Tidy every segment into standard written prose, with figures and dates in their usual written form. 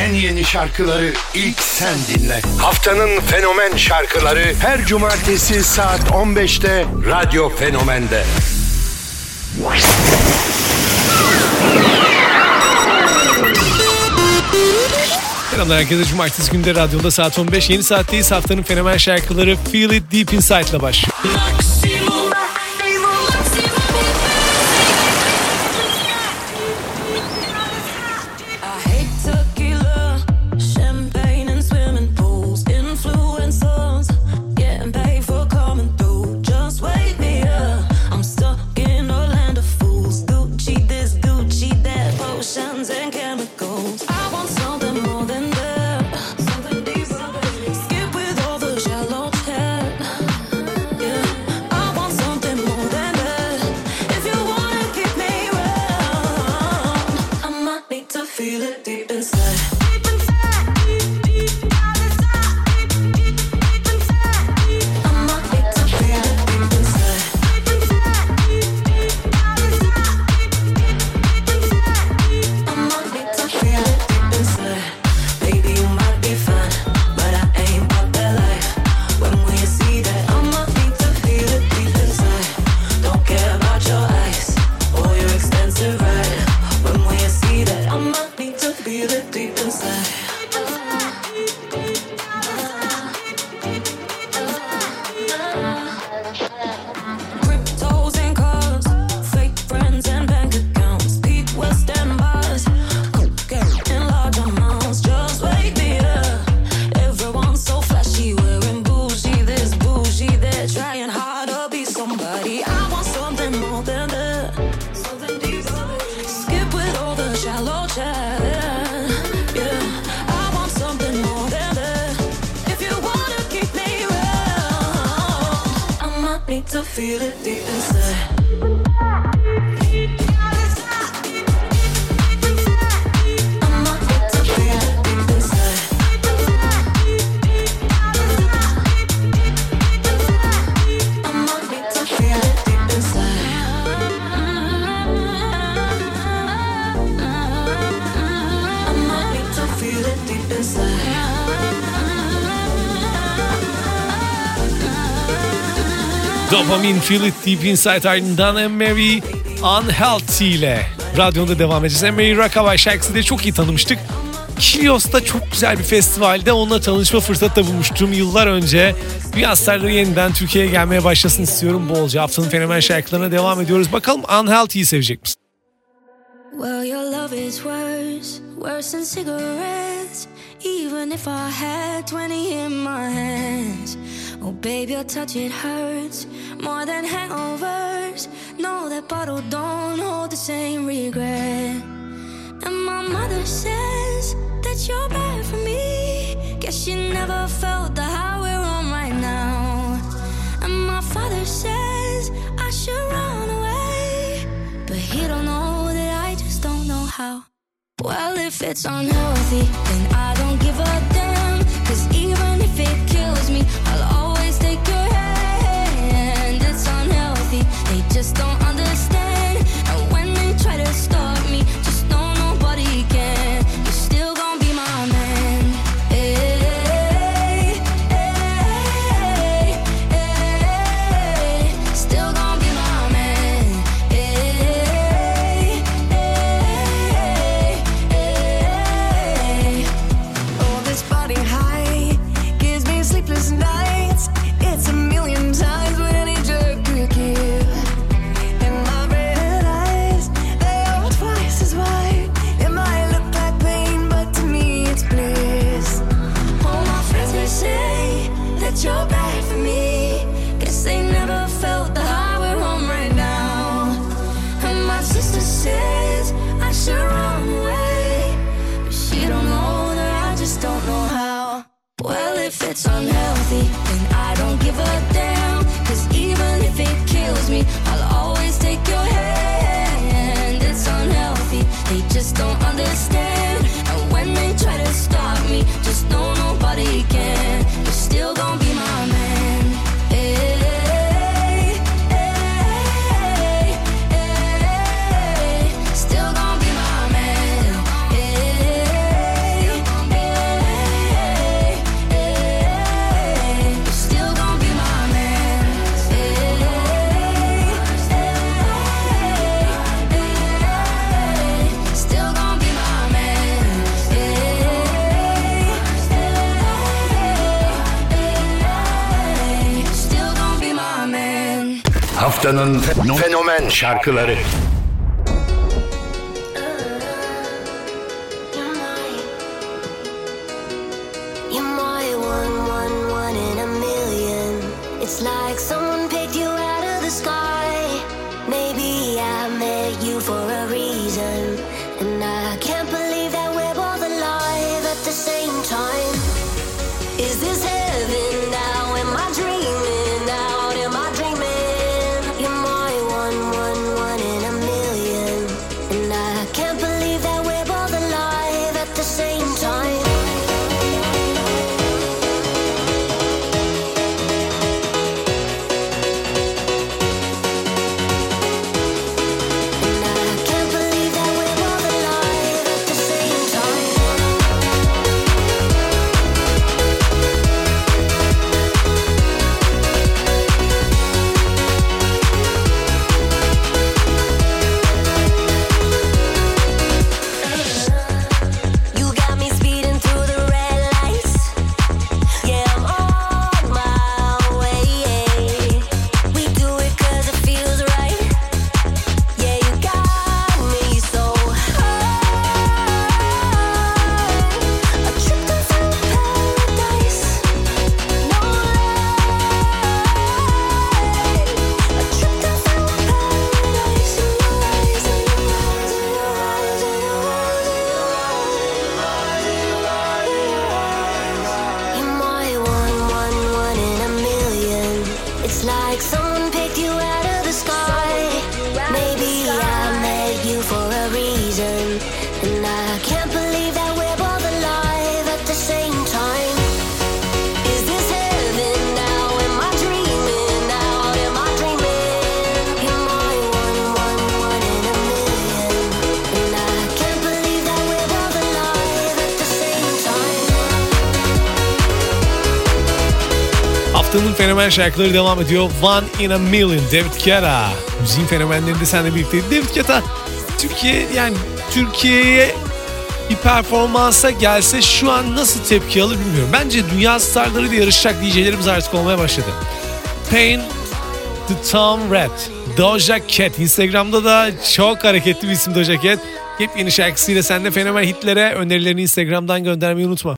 en yeni şarkıları ilk sen dinle. Haftanın fenomen şarkıları her cumartesi saat 15'te Radyo Fenomen'de. Selamlar herkese. Cumartesi günde radyonda saat 15. Yeni saatteyiz. Haftanın fenomen şarkıları Feel It Deep Inside'la başlıyor. Dopamin, Feel It Deep Inside, ardından Anne-Marie Unhealthy ile radyonda devam edeceğiz. Anne-Marie Rockaway şarkısı da çok iyi tanımıştık. Kilios'ta çok güzel bir festivalde onunla tanışma fırsatı da bulmuştum yıllar önce. Dünya starları yeniden Türkiye'ye gelmeye başlasın istiyorum bolca. Haftanın fenomen şarkılarına devam ediyoruz. Bakalım Unhealthy'yi sevecek misin? Well, your love is worse than cigarettes. Even if I had 20 in my hands. Oh babe, your touch, it hurts more than hangovers. No, that bottle don't hold the same regret. And my mother says that you're bad for me. Guess she never felt the high we're on right now. And my father says I should run away, but he don't know that I just don't know how. Well, if it's unhealthy, then I don't give a damn. 'Cause even if it kills me, I'll always take your hand. It's unhealthy, they just don't understand. And when they try to stop me, just know nobody can. You're still gonna be my man. Hey, hey, hey, still gonna be my man. Hey, hey, hey. Oh, this body high gives me sleepless nights. It's a million times what any jerk could give. Haftanın fenomen şarkıları. It's like someone picked you out of the sky. Maybe I met you for a reason, and I can't believe that we're both alive at the same time. Is this heaven now? Am I dreaming now? Am I dreaming? You're my one in a million, and I can't believe that we're both alive at the same time. Haftanın fenomen şarkıları devam ediyor. One in a Million, David Guetta. Müziğin fenomenlerinde seninle birlikte. David Guetta Türkiye'ye bir performansa gelse şu an nasıl tepki alır bilmiyorum. Bence dünya starlarıyla yarışacak DJ'lerimiz artık olmaya başladı. Pain the Town Red, Doja Cat. Instagram'da da çok hareketli bir isim Doja Cat. Yepyeni şarkısıyla sen de fenomen hitlere önerilerini Instagram'dan göndermeyi unutma.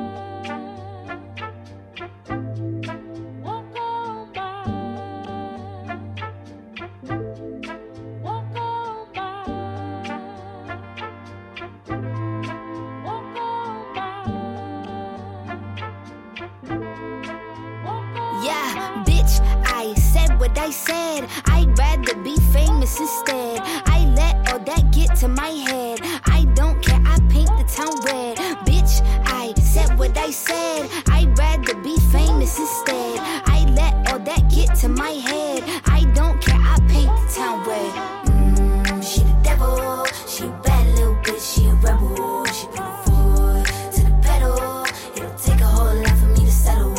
Yeah, bitch, I said what I said. I'd rather be famous instead. I let all that get to my head. I don't care, I paint the town red. Bitch, I said what I said. I'd rather be famous instead. I let all that get to my head. I don't care, I paint the town red. She the devil, she a bad little bitch, she a rebel. She put her foot to the pedal. It'll take a whole lot for me to settle.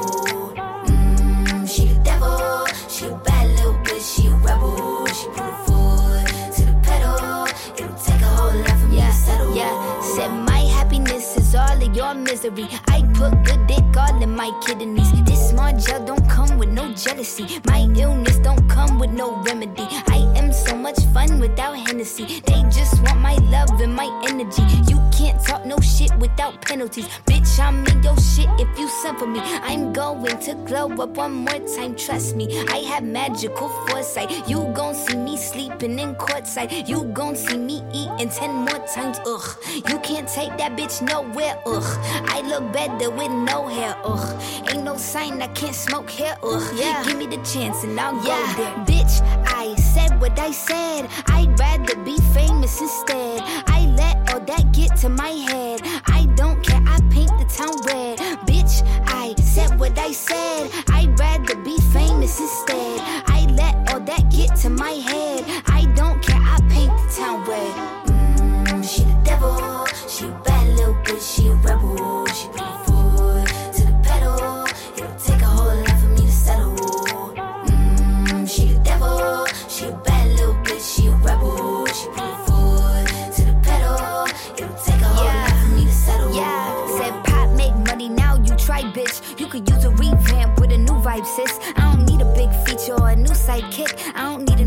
She the devil, she a bad little bitch, she a rebel. She put her foot to the pedal. It'll take a whole lot for me to settle. Yeah, said my happiness is all of your misery. I put good dick all in my kidneys. This small gel don't come with no jealousy. My illness don't come with no remedy. I am so much fun without Hennessy. They just want my love and my energy. You can't talk no shit without penalties. Bitch, I'm in your shit if you send for me. I'm going to glow up one more time, trust me. I have magical foresight. You gon' see me sleeping in courtside. You gon' see me eating 10 more times, ugh. You can't take that bitch nowhere, ugh. I look better with no hair, ugh. Ain't no sign I can't smoke here, ugh. Yeah. Give me the chance and I'll go there. Bitch, I said what I said. I'd rather be famous instead. I let all that get to my head. I don't care, I paint the town red. Bitch, I said what I said. I'd rather be famous instead. I let all that get to my head. I don't care, I paint the town red. She the devil, she a bad little bitch, she a rebel. She put her foot to the pedal. It'll take a whole lot for me to settle. She the devil, she a bad little bitch, she a rebel. She put her foot to the pedal. It'll take a whole lot for me to settle. Yeah, said pop make money, now you try, bitch. You could use a revamp with a new vibe, sis. I don't need a big feature or a new sidekick. I don't need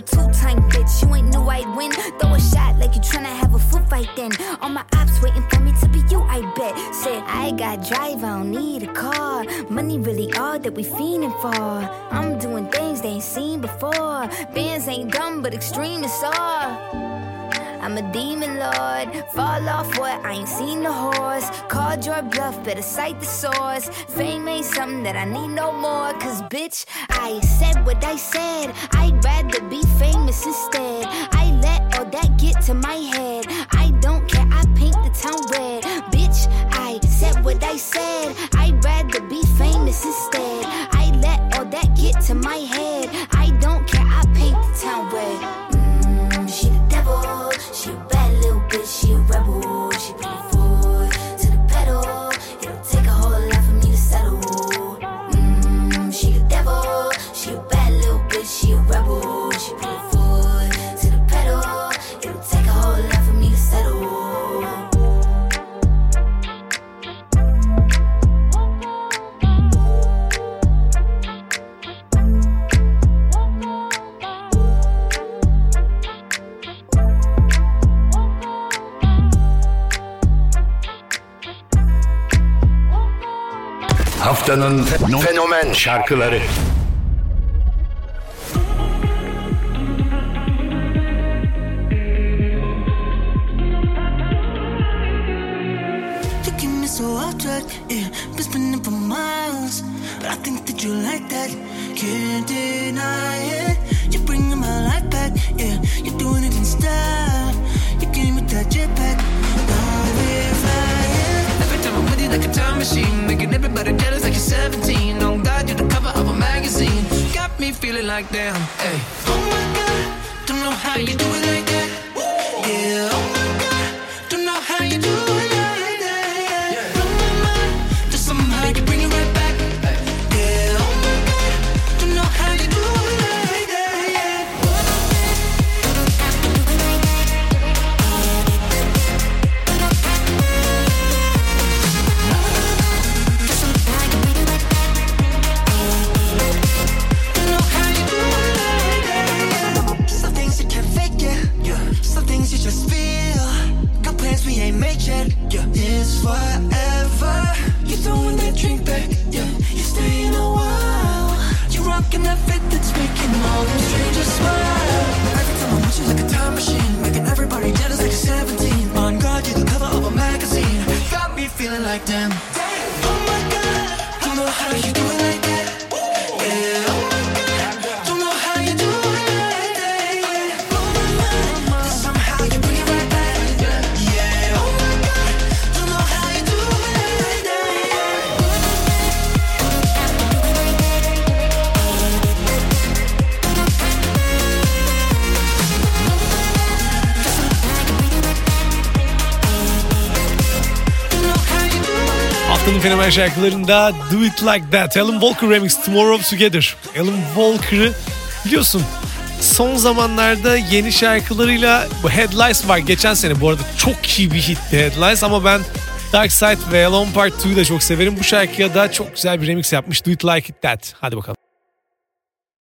two-time bitch. You ain't knew I'd win. Throw a shot like you tryna have a foot fight then. All my ops waiting for me to be you, I bet. Said I got drive, I don't need a car. Money really all that we fiending for. I'm doing things they ain't seen before. Bands ain't dumb, but extreme is all. I'm a demon lord, fall off what, I ain't seen the horse. Called your bluff, better cite the source. Fame ain't something that I need no more. Cause bitch, I said what I said. I'd rather be famous instead. I let all that get to my head. I don't care, I paint the town red. Bitch, I said what I said. I'd rather be famous instead. I let all that get to my head. I don't care, I paint the town red. She the devil. She a bad little bitch, she a rebel. She put her foot to the pedal. It'll take a whole lot for me to settle. She the devil. She a bad little bitch, she a rebel. She put her foot to the pedal. It'll take a whole lot for me to settle. Haftanın fenomen şarkıları. Taking me so off track, yeah, been spinning for miles, but I think that you like that, can't deny it. You're bringing my life back, yeah, you're doing it in style. You came with that jetpack, now we're flying. Every time I'm with you like a time machine, making everybody jealous like you're 17. Oh God, you're the cover of a magazine, got me feeling like damn. Hey, oh my God, don't know how you do it like that. Yeah, oh my God, don't know how you do it like that. Yeah, blow my mind, just somehow you bring it right back. Yeah, oh my God, don't know how you do it like that. Yeah. Some things you can't fake it, yeah. Some things you just feel. Got plans we ain't made yet, yeah. It's forever. You throwing that drink back, yeah. You staying a while. You rocking that fit that's making all them strangers smile. Every time I'm with you like a time machine, making everybody jealous like you're 17. On God, you're the cover of a magazine, got me feeling like damn. Oh my God, don't know how you do it like that. Yeah, oh my God, don't know how you do it like that. Yeah, blow my mind, somehow you bring it right back. Yeah, oh my God, don't know how you do it like that. Haftanın fenomen şarkılarında Do It Like That, Alan Walker Remix, Tomorrow Together. Alan Walker'ı biliyorsun, son zamanlarda yeni şarkılarıyla bu Head Lies var. Geçen sene bu arada çok iyi bir hitti Head Lies, ama ben Dark Side ve Alone Part 2'yi de çok severim. Bu şarkıya da çok güzel bir remix yapmış, Do It Like That. Hadi bakalım.